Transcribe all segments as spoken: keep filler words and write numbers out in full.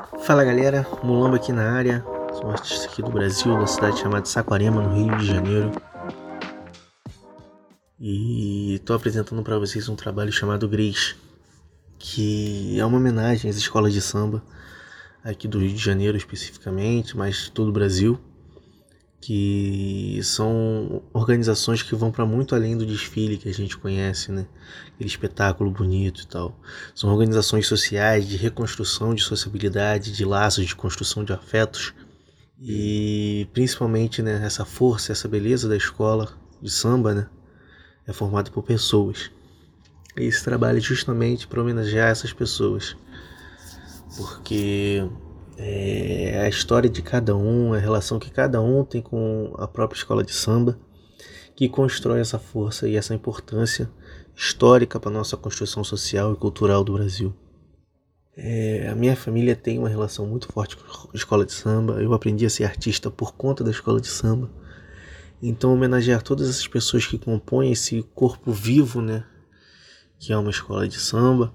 Fala galera, Mulamba aqui na área, sou um artista aqui do Brasil, da cidade chamada Saquarema, no Rio de Janeiro. E estou apresentando para vocês um trabalho chamado Grace, que é uma homenagem às escolas de samba, aqui do Rio de Janeiro especificamente, mas de todo o Brasil, que são organizações que vão para muito além do desfile que a gente conhece, né? Aquele espetáculo bonito e tal. São organizações sociais de reconstrução de sociabilidade, de laços, de construção de afetos e principalmente, né, essa força, essa beleza da escola de samba, né, é formada por pessoas. E esse trabalho é justamente para homenagear essas pessoas, porque é a história de cada um, a relação que cada um tem com a própria escola de samba, que constrói essa força e essa importância histórica para a nossa construção social e cultural do Brasil. É, a minha família tem uma relação muito forte com a escola de samba. Eu aprendi a ser artista por conta da escola de samba. Então homenagear todas essas pessoas que compõem esse corpo vivo, né, que é uma escola de samba,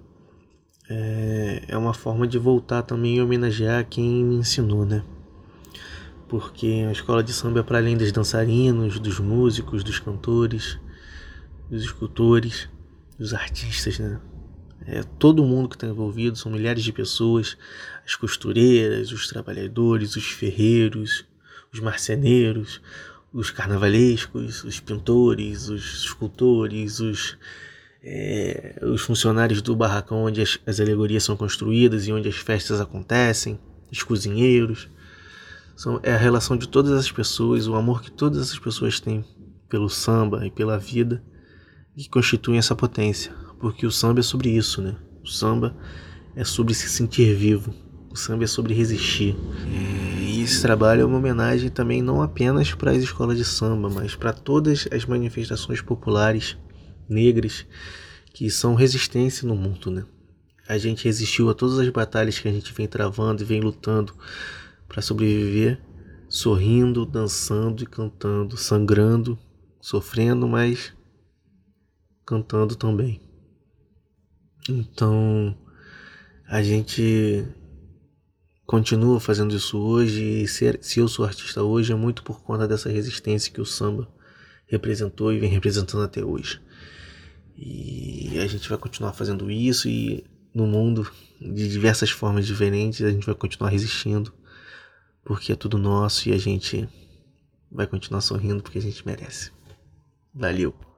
É, é uma forma de voltar também e homenagear quem me ensinou, né? Porque a escola de samba é para além dos dançarinos, dos músicos, dos cantores, dos escultores, dos artistas, né? É todo mundo que está envolvido, são milhares de pessoas, as costureiras, os trabalhadores, os ferreiros, os marceneiros, os carnavalescos, os pintores, os escultores, os É, os funcionários do barracão onde as, as alegorias são construídas e onde as festas acontecem, os cozinheiros. São, é a relação de todas as pessoas, o amor que todas essas pessoas têm pelo samba e pela vida que constituem essa potência, porque o samba é sobre isso, né? O samba é sobre se sentir vivo, o samba é sobre resistir. É, e esse trabalho é uma homenagem também não apenas para as escolas de samba, mas para todas as manifestações populares negras que são resistência no mundo, né? A gente resistiu a todas as batalhas que a gente vem travando e vem lutando para sobreviver, sorrindo, dançando e cantando, sangrando, sofrendo, mas cantando também. Então, a gente continua fazendo isso hoje, e ser, se eu sou artista hoje é muito por conta dessa resistência que o samba representou e vem representando até hoje. E a gente vai continuar fazendo isso, e no mundo, de diversas formas diferentes, a gente vai continuar resistindo, porque é tudo nosso, e a gente vai continuar sorrindo porque a gente merece. Valeu!